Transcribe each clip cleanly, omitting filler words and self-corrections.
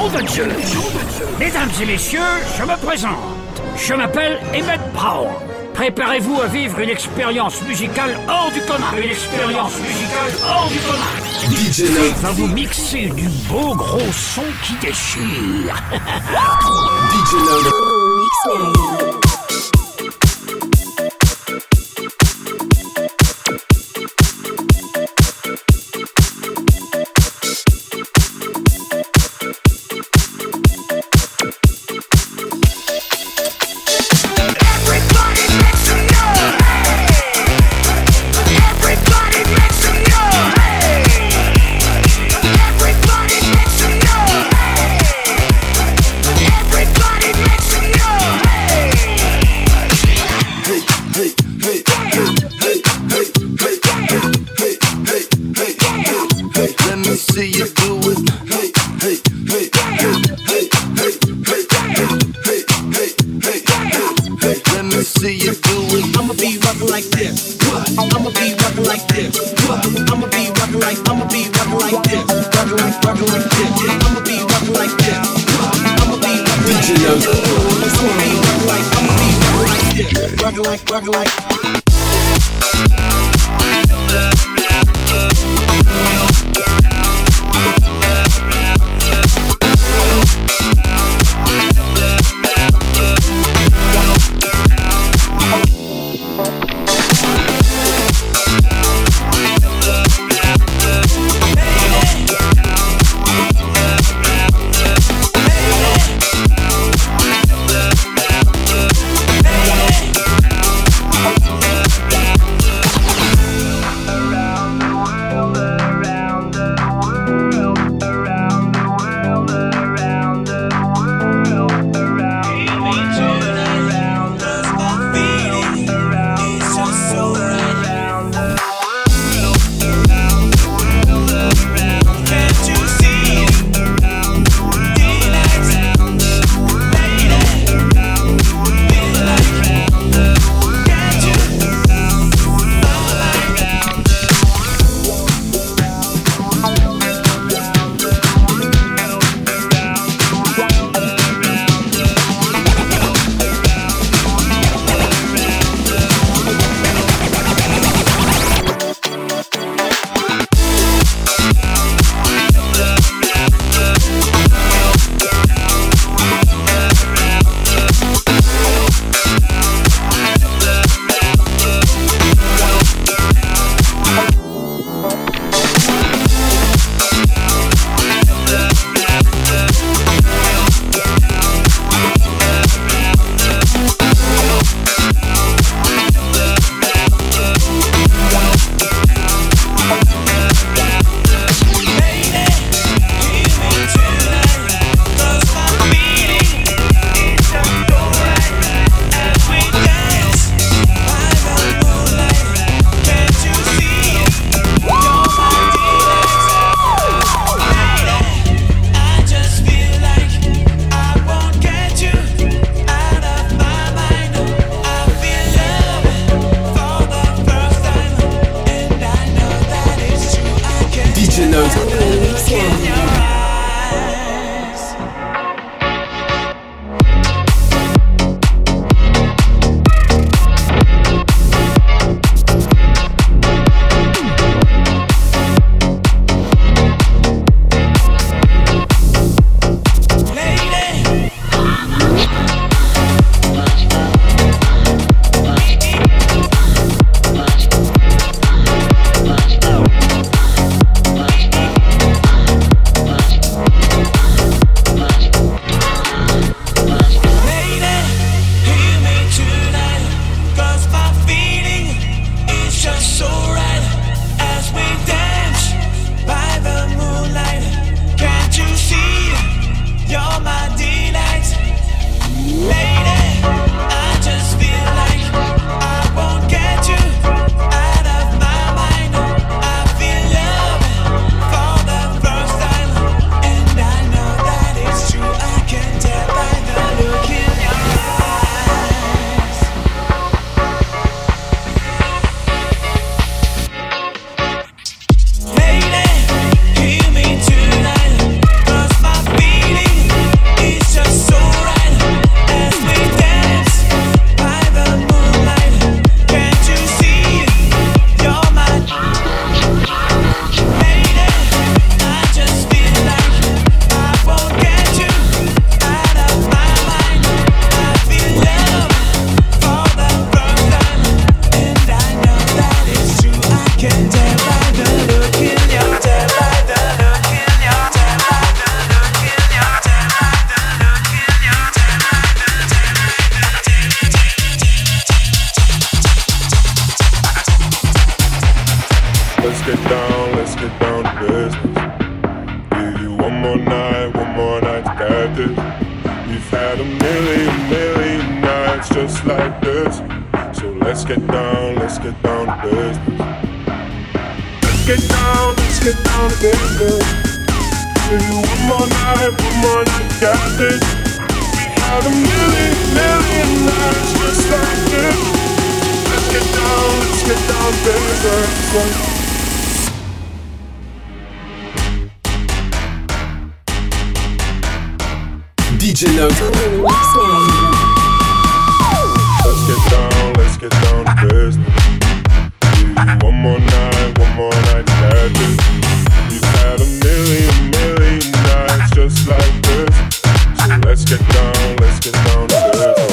de Dieu. Mesdames et messieurs, je me présente. Je m'appelle Emmett Brown. Préparez-vous à vivre une expérience musicale hors du commun. DJ Va vous mixer du beau gros son qui déchire. DJ Load. down to business. Give you one more night to get this. We've had a million nights just like this. So let's get down to business. Let's get down to business. Give you one more night to get this. We've had a million nights just like this. Let's get down to business. DJ Load. Let's get down to business. Give you one more night to get this. We've had a million nights just like this. So let's get down to business.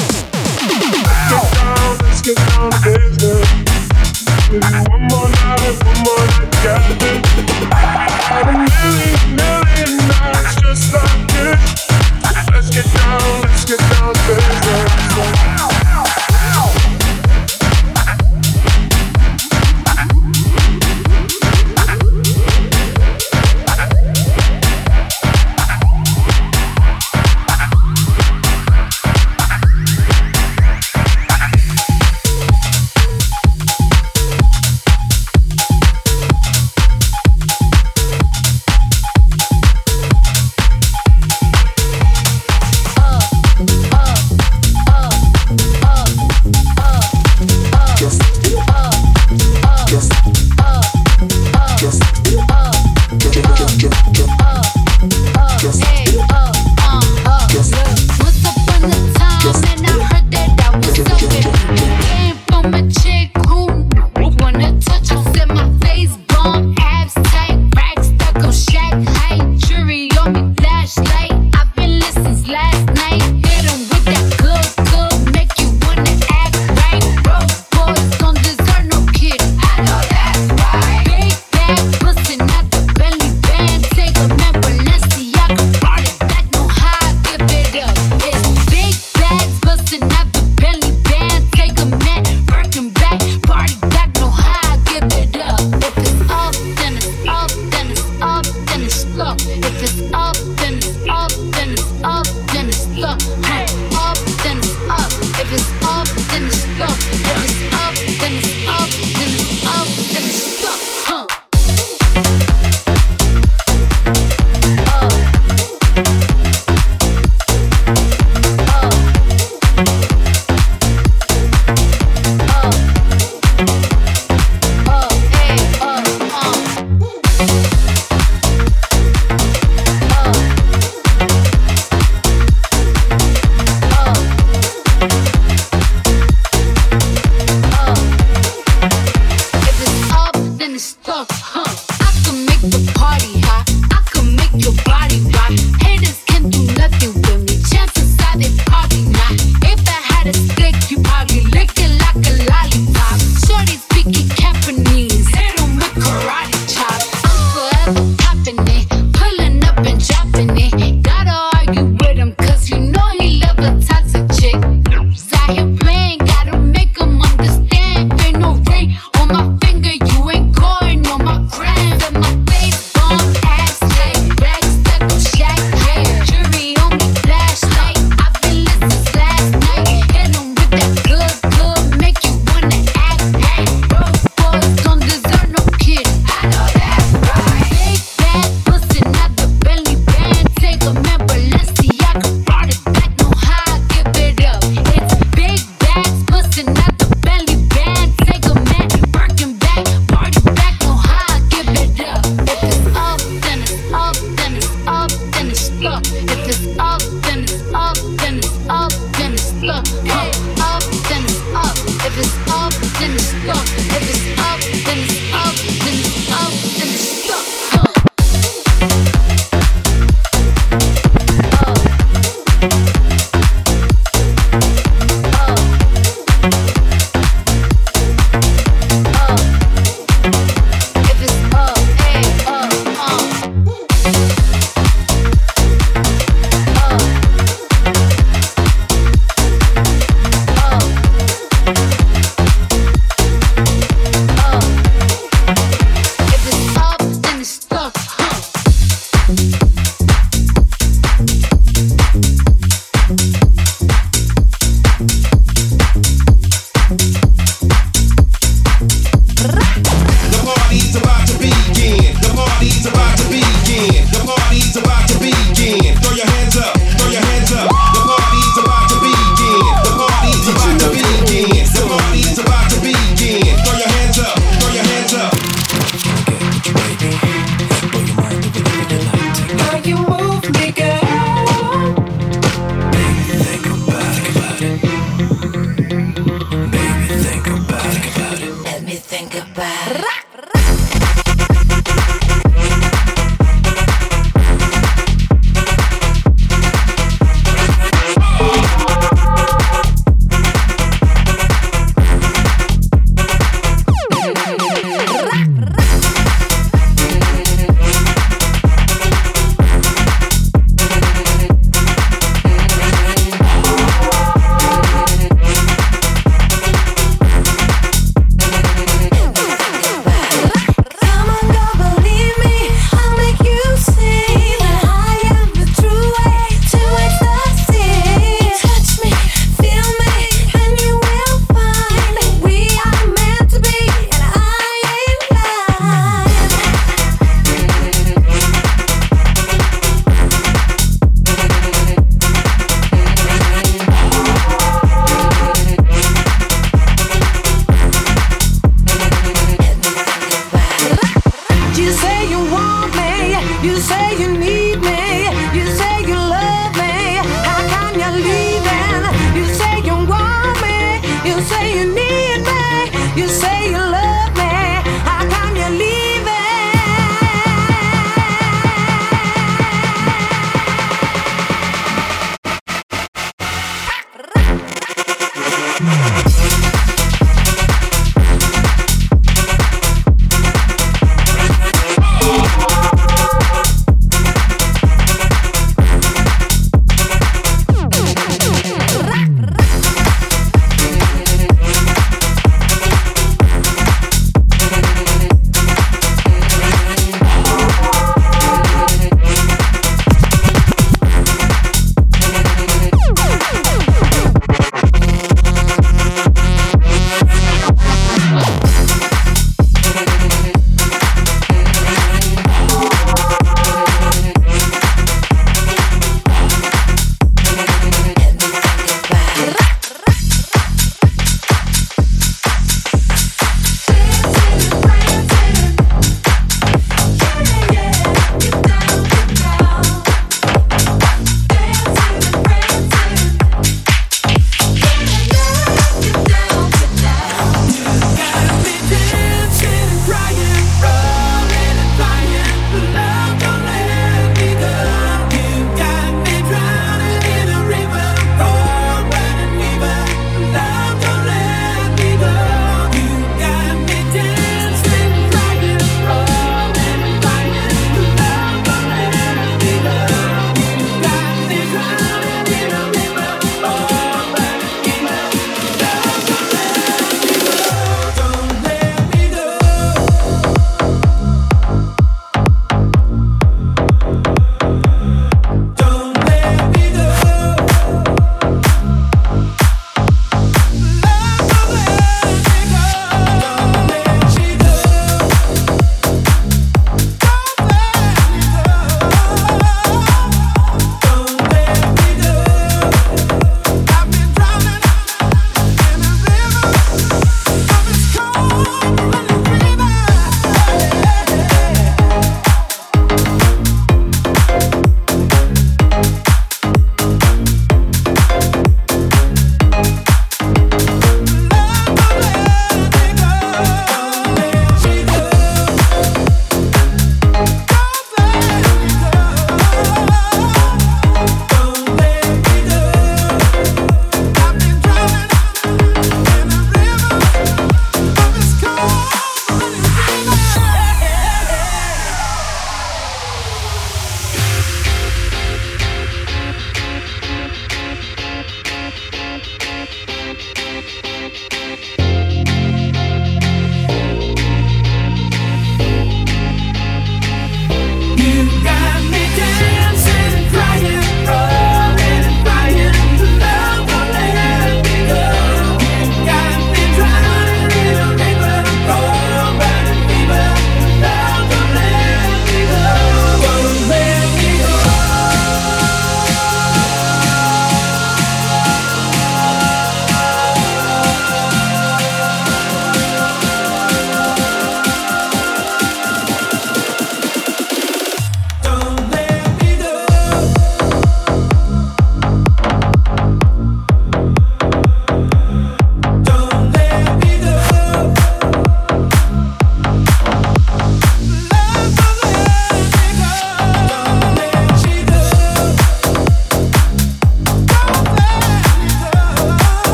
Let's get down to business. Give you one more night to get this. We've had a million nights just like this. Let's get down to business. Shack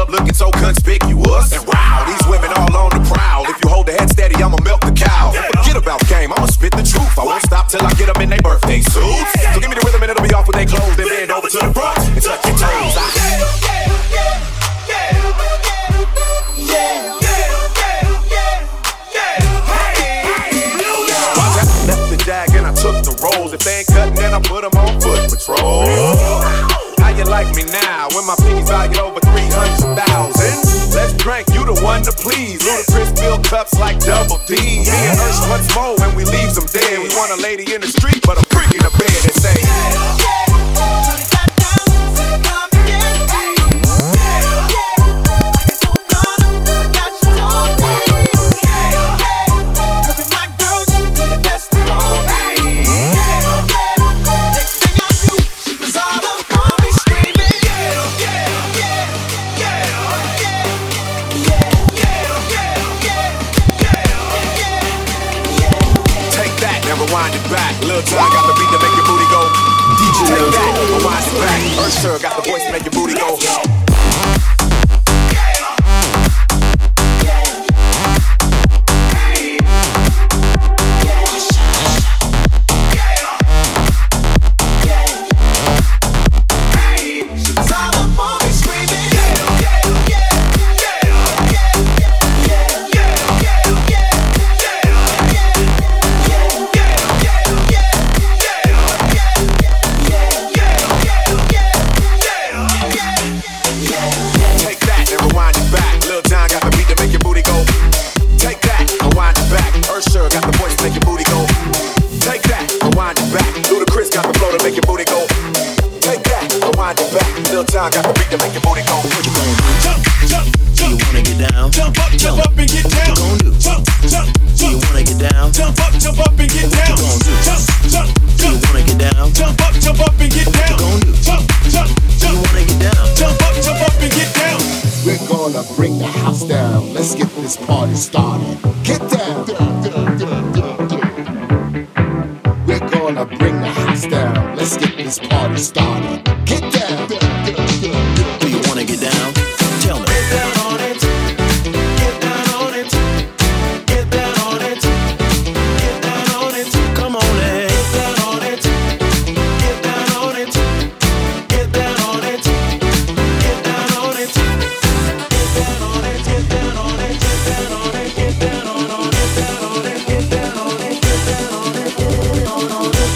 club looking so conspicuous. And wow, these women all on the prowl. If you hold the head steady, I'ma milk the cow. Forget about game, I'ma spit the truth. I won't stop till I get them in their birthday suits. So give me the rhythm and it'll be off with their clothes. Then bend over to the front and touch your toes. Left the jag and I took the rolls. If they ain't cutting, then I put them on foot patrol. How you like me now when my piggies valued over 300,000? Let's drink, you the one to please. Ludacris fill cups like Double D. Me and Ursh once more when we leaves them dead. We want a lady in the street, but a freak in the bed and say, rewind it back. Lil Jon got the beat to make your booty go. DJ take that, rewind it back. Usher got the voice to make your booty go. Got the beat to make your booty go. What you gonna do? Jump, jump, jump. Do you wanna get down? Jump up and get down. What you gonna do? Jump, jump, jump. Do you wanna get down? Jump up and get down. What you gonna do? Jump, jump, jump. Do you wanna get down? Jump up and get down. What you gonna do? Jump, jump, jump. Do you wanna get down? Jump up and get down. We're gonna bring the house down. Let's get this party started. Get down. We're gonna bring the house down. Let's get this party started. Get down. Do you wanna get down? Tell me. Get down on it. Get down on it. Get down on it. Get down on it. Come on, let's get down on it. Get down on it. Get down on it. Get down on it. Get down on it. Get down on it. Get down on it. Get down on it. Get down on it. Get down on it. Get down on it. Get down on it.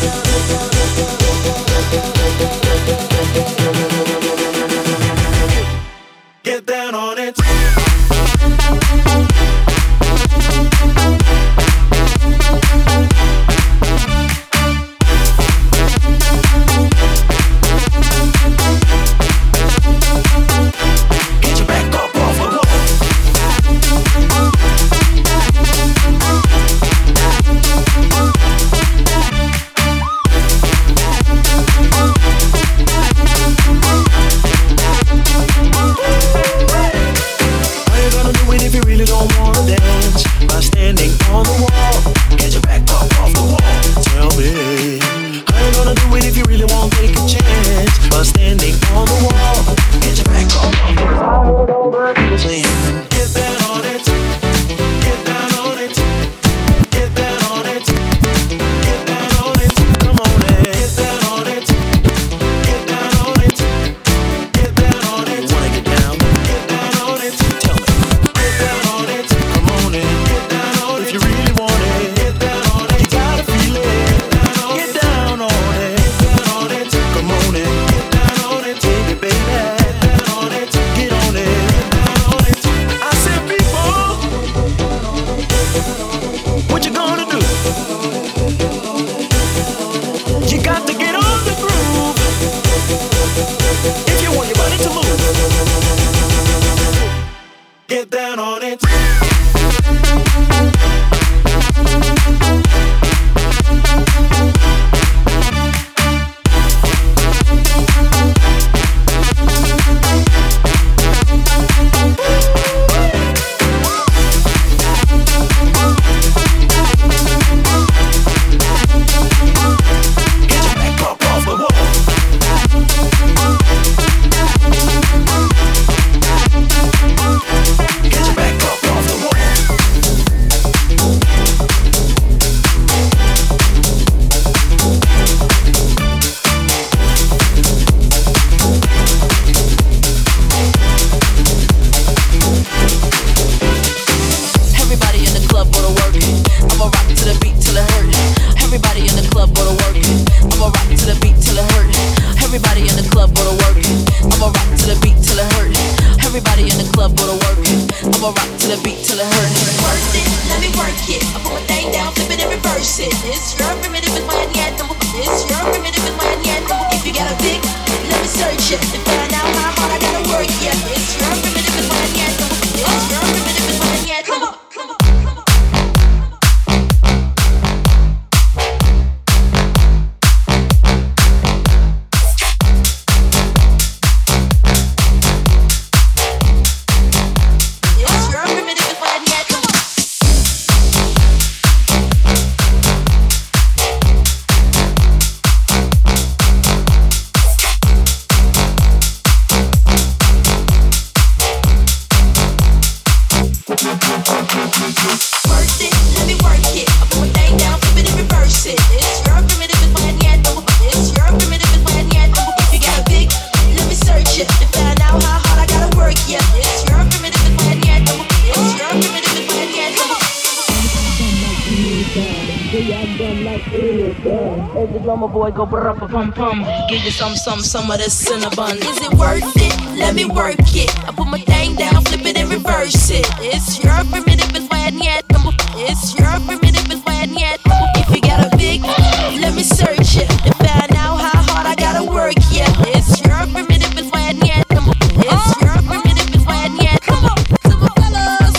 know my boy go pum. Give you some of this cinnamon. Is it worth it? Let me work it. I put my thing down, flip it and reverse it. It's your primitive and why yet. It's your primitive and why yet. If you got a big, let me search it and find out how hard I gotta work. Yeah, it's your primitive and why yet. It's your primitive and why yet. Come on, simple fellas.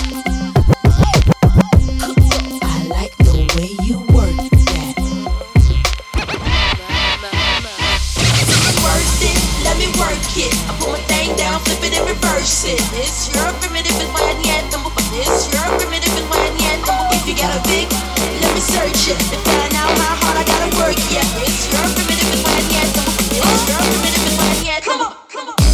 I like the way you work that. Worth it, let me work it. I put my thing down, flip it and reverse it. It's your primitive and why yet. It's your primitive and why yet. If you got a big, let me search it and find out how hard I gotta work. Yeah, it's your primitive and why yet. It's your primitive and why yet. Come on, come on.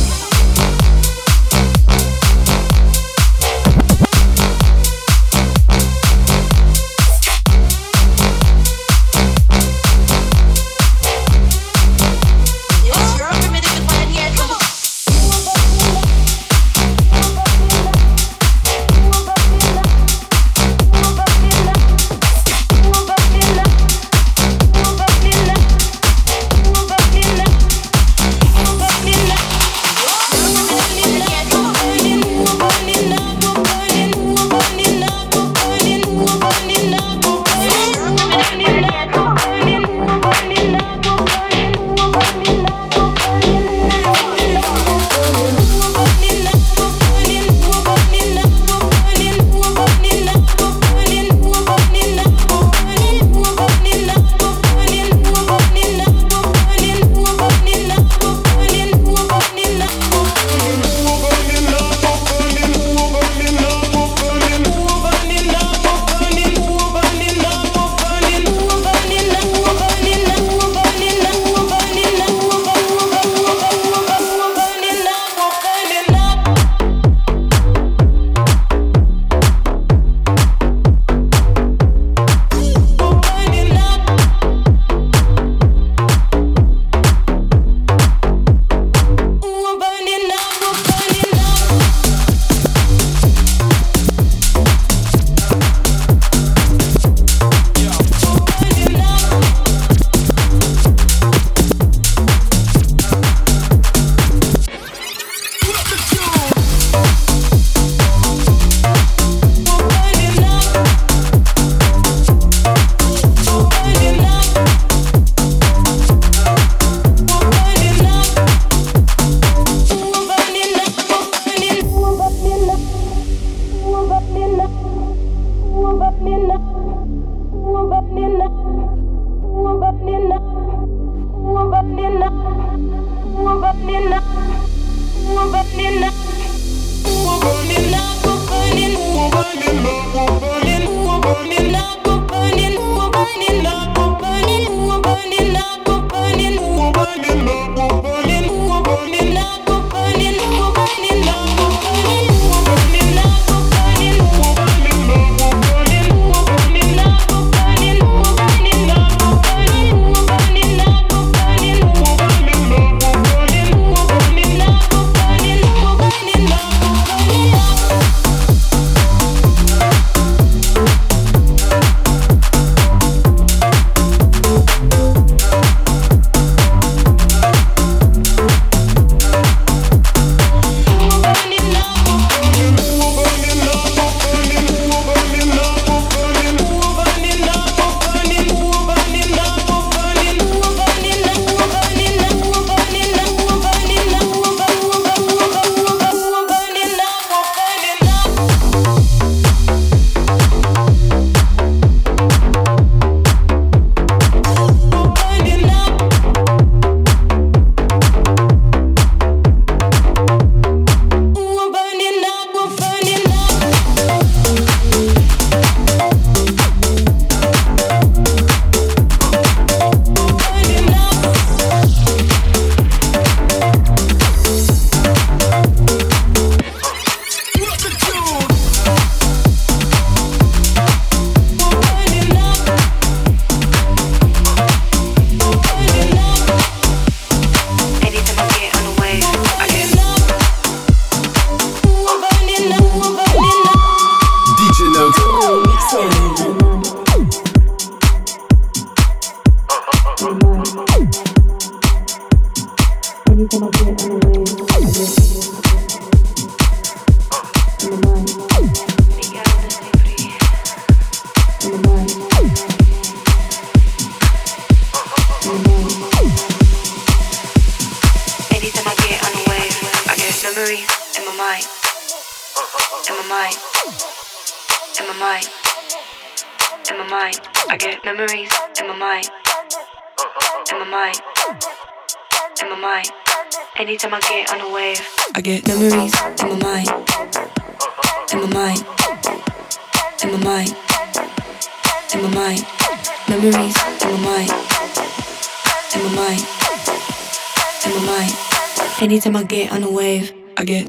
Anytime I get on the wave, I get memories in my mind, in my mind, in my mind, in my mind, memories in my mind, in my mind, in my mind. Anytime I get on the wave, I get.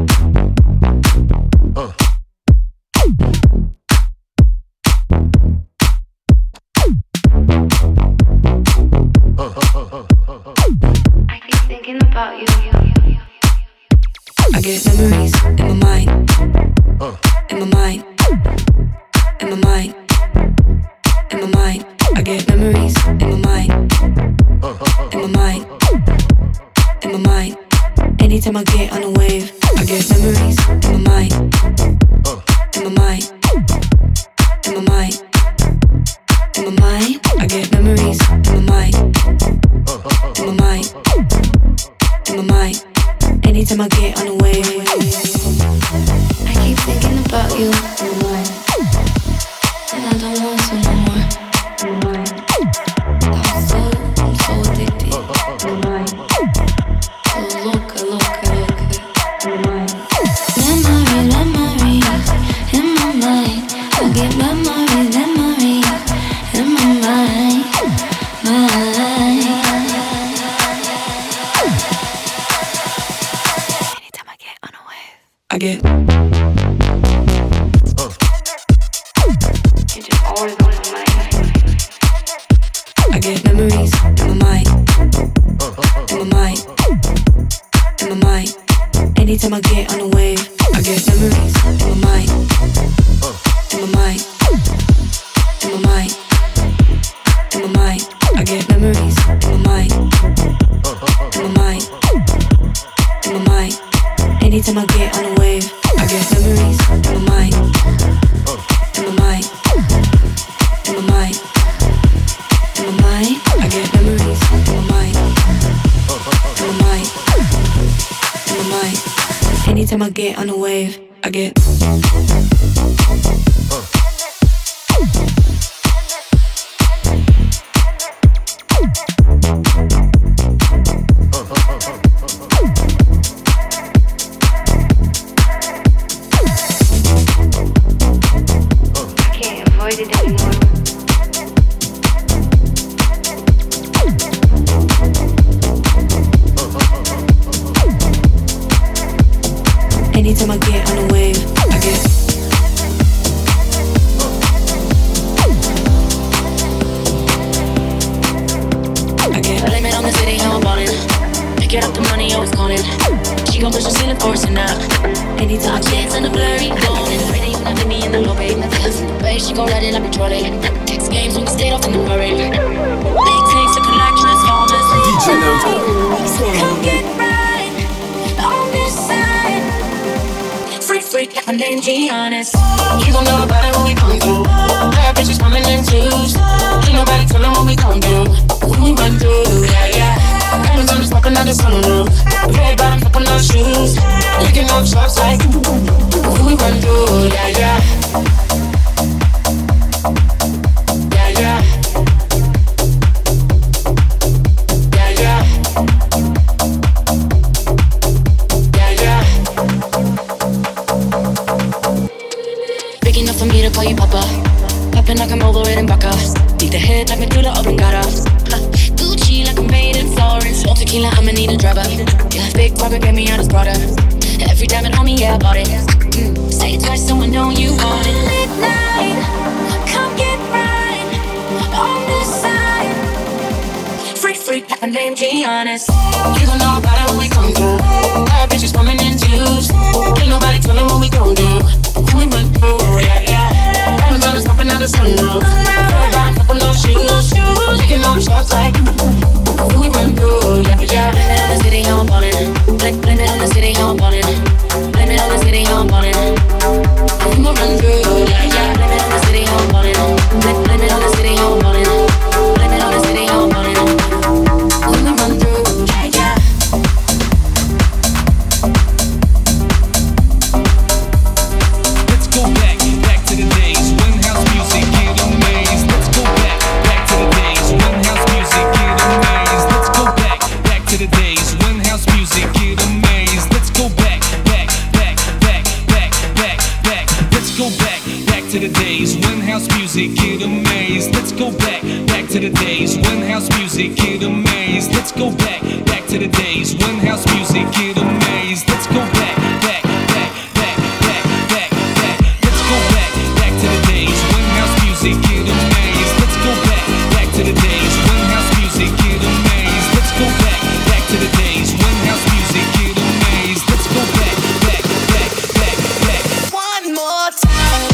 About you. I get memories in my mind, in my mind, in my mind, in my mind. I get memories in my mind, in my mind, in my mind. Anytime I get on a wave, I get memories in my mind, in my mind, in my mind, in my mind. I get memories in my mind, in my mind. In my mind, anytime I get on the wave, I keep thinking about you in my mind, and I don't want to no more. In my mind, I'm so addicted. In my mind, so loca. In my mind, memories in my mind. I get memories in my mind, I get. You're just always on my mind. I get memories in my mind, in my mind, in my mind. Anytime I get on a wave, I get memories in my mind, in my mind, in my mind, in my mind. I get memories in my mind, in my mind, in my mind. Anytime I get on a wave, I get memories in my mind, in my mind, in my mind, in my mind. I get memories in my mind, in my mind, in my mind. Anytime I get on a wave, I get. Anytime I get on a wave, I get. Blame it on the city, how I'm ballin'. Pick it up, the money always calling. She gon' push the ceiling, forcing out. Anytime I chance in the blurry, golden. Ready, you not me in the low, babe. The way she gon' ride it like a trolley. Text games, we can stay off in the hurry. Big takes to collect transformers. DJ Load. Come get right on this side. Freak, my name Giannis. You gon' know about it when we come through. Bad bitches coming in twos. Ain't nobody tellin' what we gon' do. When we run through, yeah. Amazon is walking out the sunroof. Red bottom, fucking no shoes. Licking up shots like when we run through, yeah. Call you Papa, popping like I'm over it in Baca. Beat the head like Medulla Oblongata. Gucci like I'm made in Florence. No tequila, I'ma need a driver. Yeah, big Robert gave me out his brother. Every diamond on me, yeah, I bought it. Say it twice, someone know you want it. Midnight, come get right on this side. Freak, like my name Giannis. You gon' know about it when we come through. Bad bitches coming in twos. Ain't nobody tellin' what we gon' do. We went through, yeah. Amazon is popping out the sunroof. Red line, couple no shoes. Licking up shots like we went through, yeah. The city on ball. to the days when house music get amazed. Let's go back to the days when house music get amazed. Let's go back to the days when house music get amazed. Let's go back. Let's go back to the days when house music get amazed. Let's go back to the days when house music get amazed. Let's go back to the days when house music get amazed. Let's go back. One more time.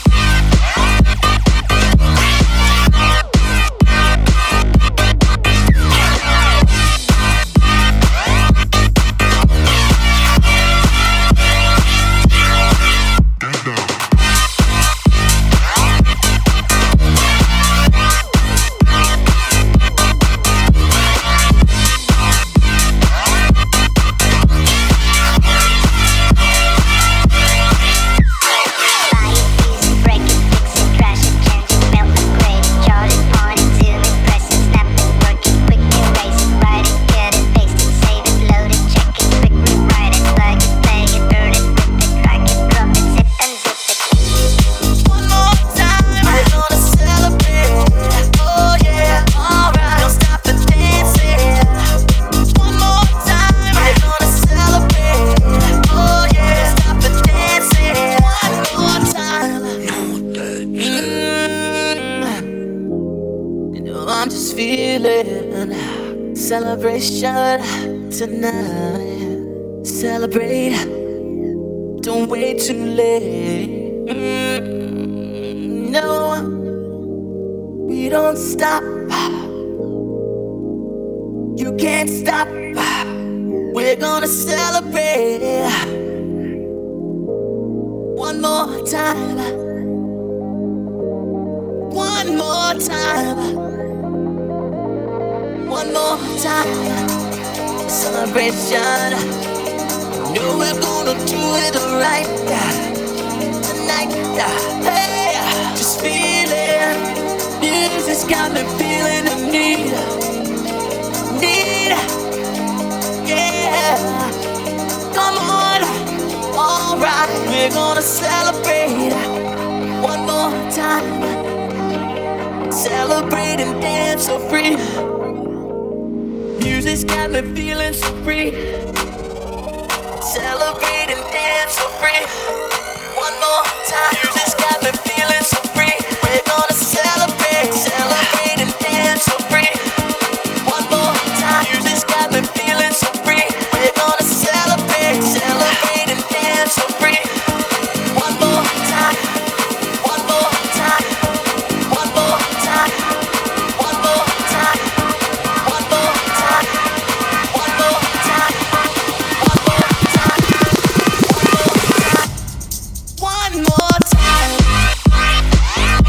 Celebration tonight. Celebrate. Don't wait too late. No, we don't stop. You can't stop. We're gonna celebrate. One more time. One more time. One more time, celebration. Know we're gonna do it right tonight. Hey, just feel it. Music's got me feeling the need. Yeah. Come on, alright. We're gonna celebrate one more time. Celebrate and dance so free. Music's got me feeling so free. Celebrate and dance so free. One more time. Music's got me feeling so free. We're gonna celebrate and dance so free. One more time. Music's got me feeling so free. We're gonna celebrate and dance so free. One more time. One more time. One more time. One more time. One more time. One more time. One more time. One more time. One more time.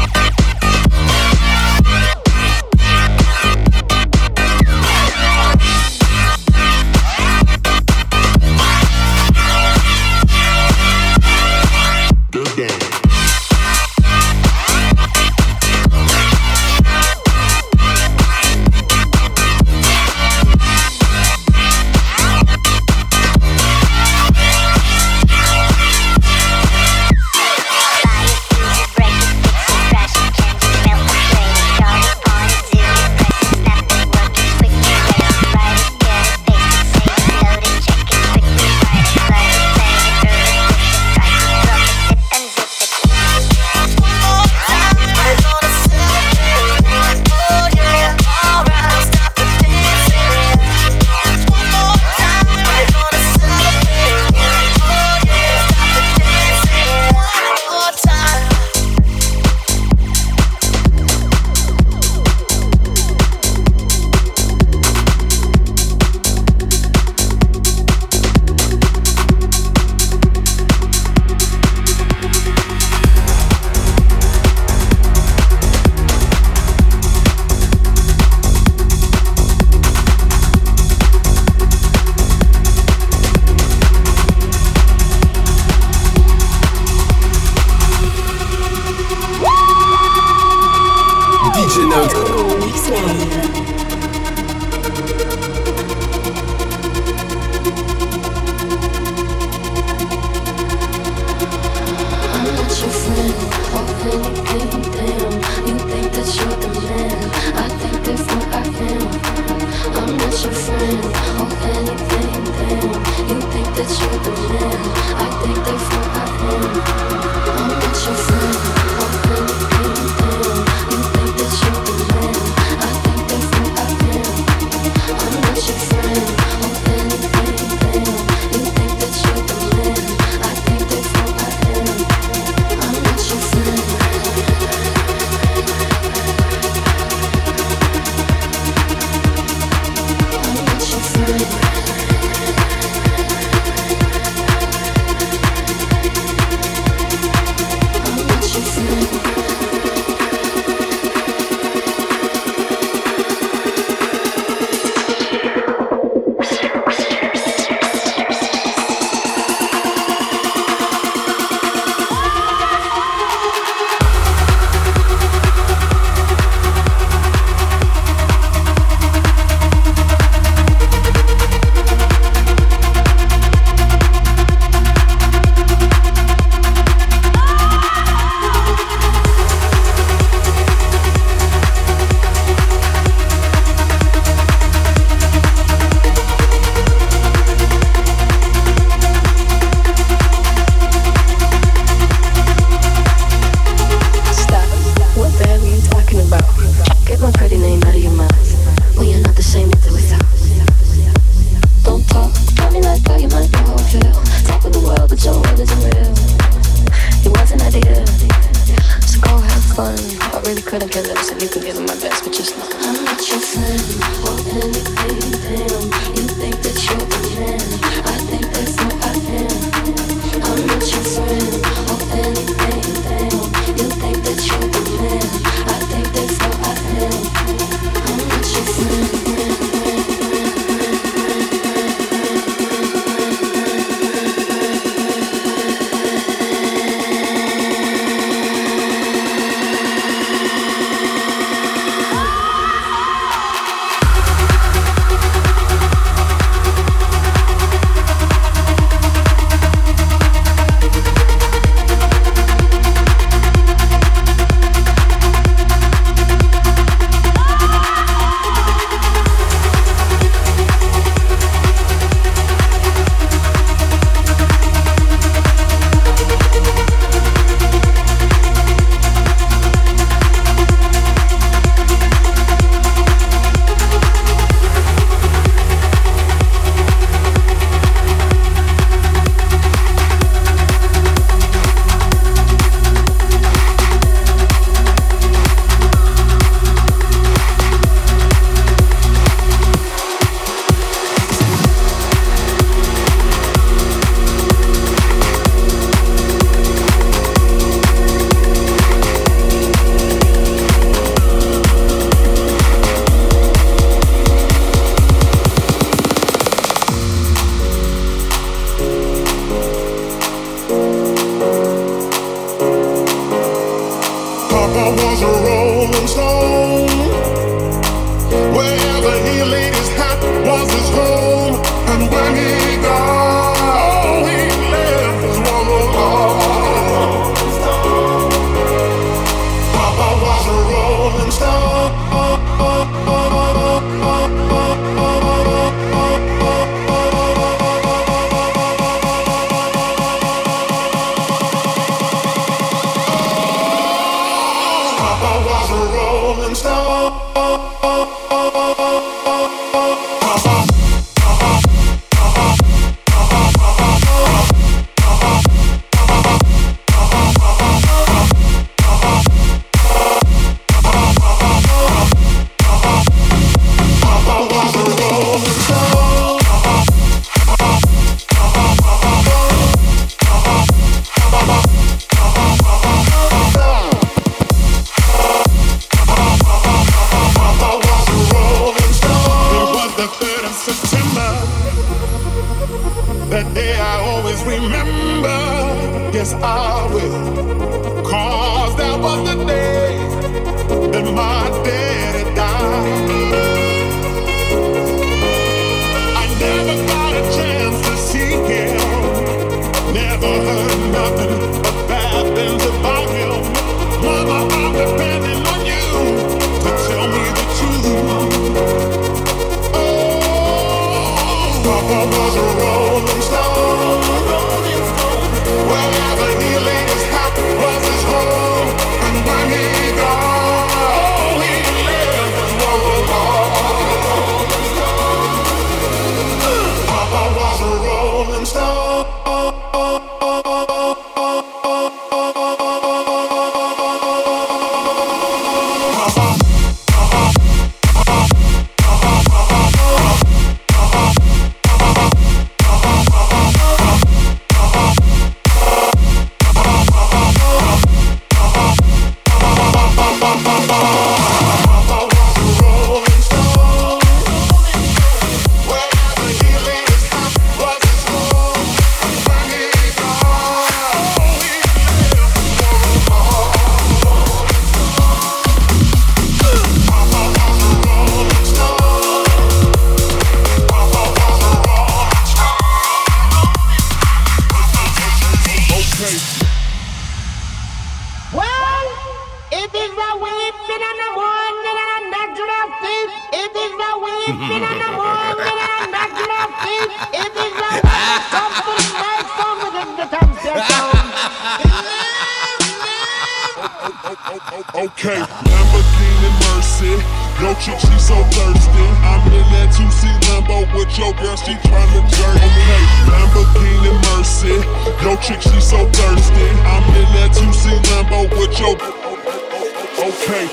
Okay, Lamborghini Mercy. Yo, chick, she so thirsty. I'm in that 2C Lambo with your girl, she tryna jerk. Okay, Lamborghini Mercy. Yo, chick, she so thirsty. I'm in that 2C Lambo with your. Okay.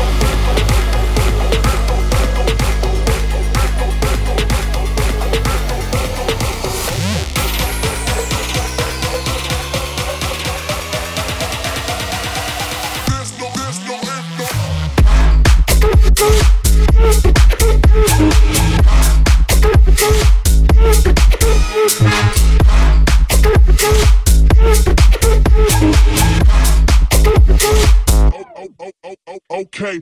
Okay.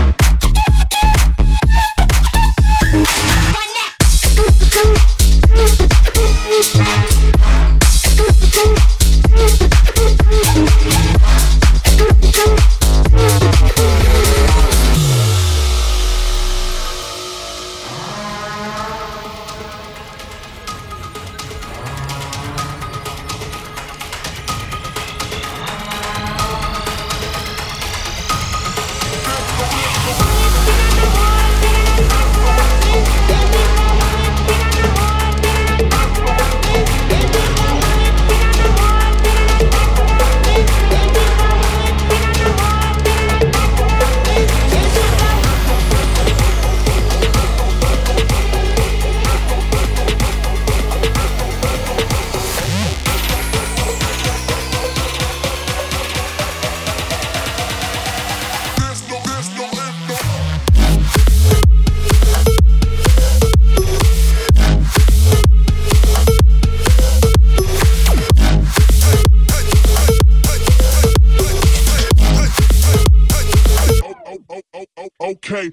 Okay.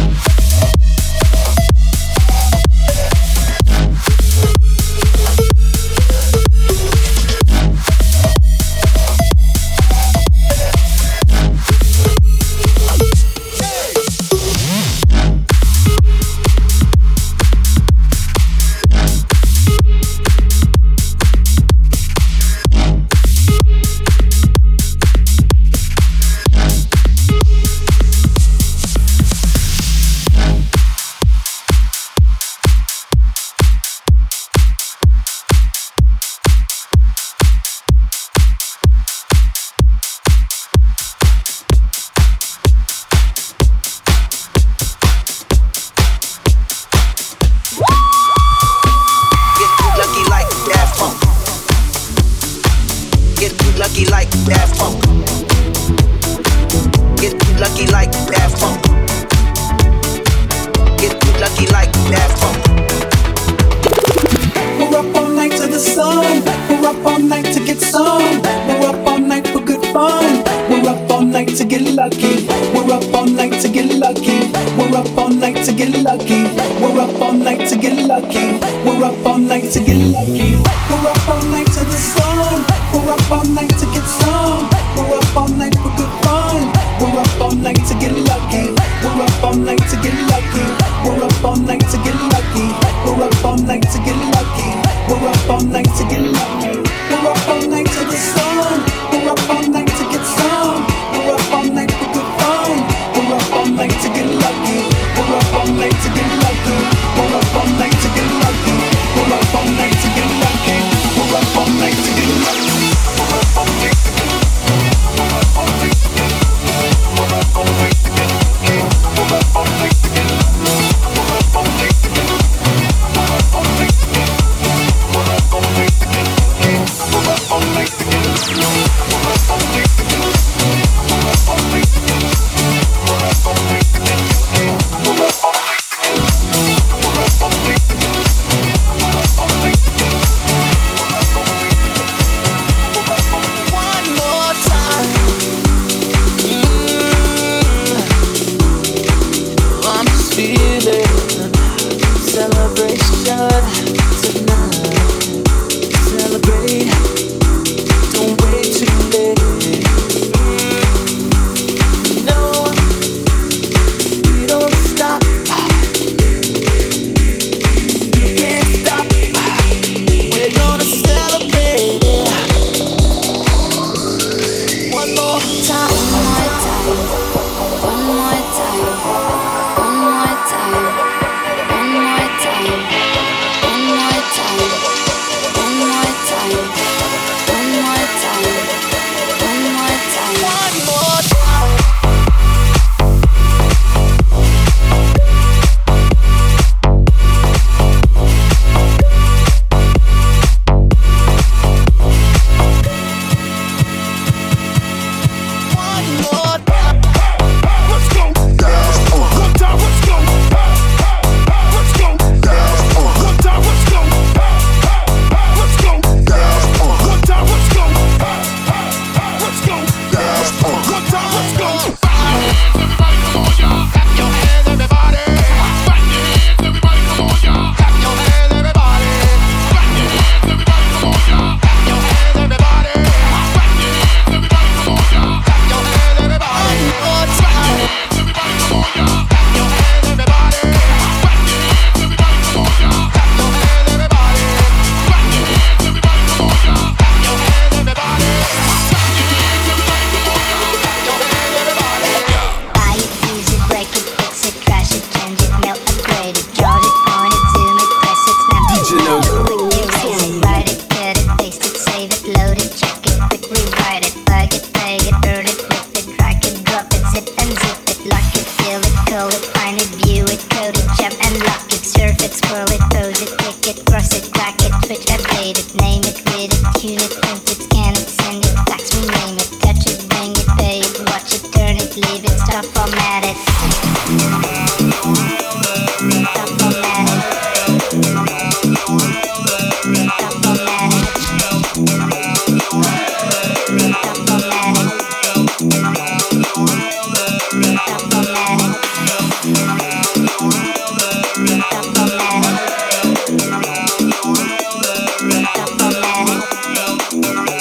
lucky like that funk. Get lucky like that funk. Get lucky like that funk. We're up all night to the sun. We're up all night to get some. We're up all night for good fun. We're up all night to get lucky. We're up all night to get lucky. We're up all night to get lucky. We're up all night to get lucky. We're up all night to get lucky. We're up all night to the sun. We're up all night to get some. We're up all night for good fun. We're up all night to get lucky. We're up all night to get lucky. We're up all night to get lucky. We're up all night to get lucky. lucky. We're up all night to get lucky. We're up all night to the sun. We're up all night to get some. We're up all night for good fun. We're up all night to get lucky. We're up all night to get lucky. We're up all night to get lucky. We're up all night to get lucky. We're up all night to get lucky. We're up all night to get lucky. We're up all night to get lucky. We're up all night to get lucky. We're up all night to get lucky. We're up all night to get lucky. We're up all night to get lucky. We're up all night to get lucky. We're up all night to get lucky. We're up all night to get lucky. We're up all night to get lucky. We're up all night to get lucky. We're up all night to get lucky. We're up all night to get lucky. We're up all night to get lucky. One more time. I'm just feeling celebration tonight. Celebrate, don't wait too late. No, we don't stop. You can't stop. We're gonna celebrate it. One more time. One more time. One more time. One more time. One more time. One more time. One more time. One more time. One more time. One more time. Let's go. One time, let's go. Let's go. One time, let's go. Let's go. One time, let's go. Let's go. One time, let's go. Everybody, come on, y'all. Clap your hands, everybody. Clap your hands, everybody, come on, y'all. Clap your hands, everybody. Clap your hands, everybody, come on, y'all. Clap your hands, everybody. Clap your hands, everybody, come on, y'all. Clap your hands, everybody. One more time. Everybody, come on, y'all. Clap your hands, everybody. Clap your hands, everybody, come on, y'all. Clap your hands, everybody. Clap your hands, everybody, come on, y'all. Clap your hands, everybody. Clap your hands, everybody, come on, y'all. Clap your hands, everybody. Buy it, use it, break it, fix it, crash it, change it, melt, upgrade it, charge it, point it, zoom it, press it, snap it, DJ Logo. quick erase it, write it, cut it, paste it, save it, load it, check it, quick rewrite it, plug it, play it, burn it, flip it, drag it, drop it, zip and zip it, lock it, fill it, call it, find it, view it, code it, jump and lock it, surf it, scroll it, pose it, click it, cross it, crack it, switch, update it, name it, read it, tune it, print it, scan it, send it, fax, rename it, touch it, bring it, pay it, watch it, turn it, leave it, stop, format it. Stop, format it. Stop, format it. Stop, format it. Stop, format it. Stop, format it. Stop, format it.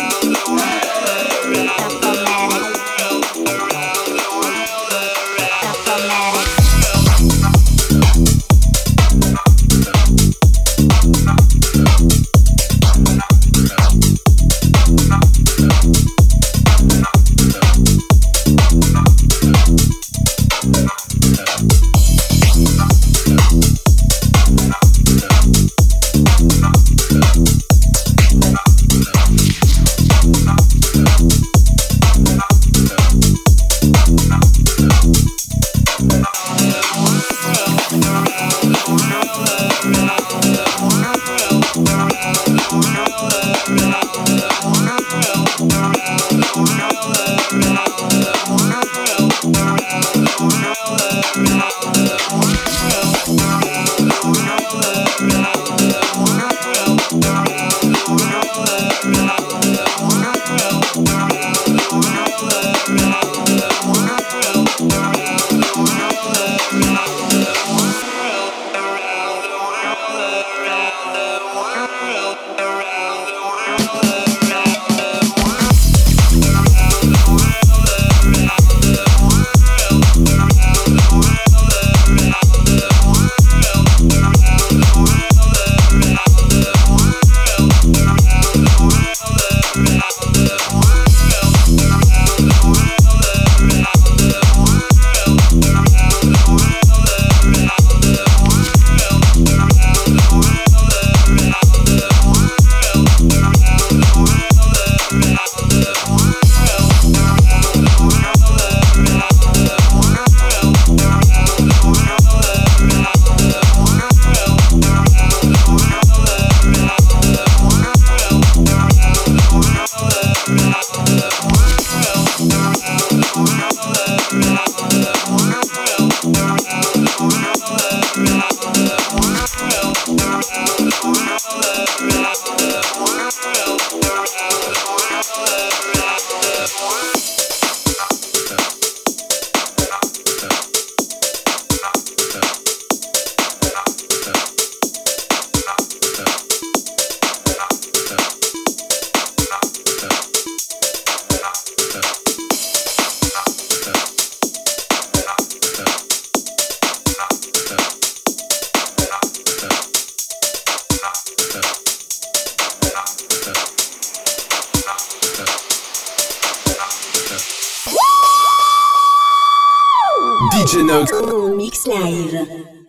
DJ Note. Mix live.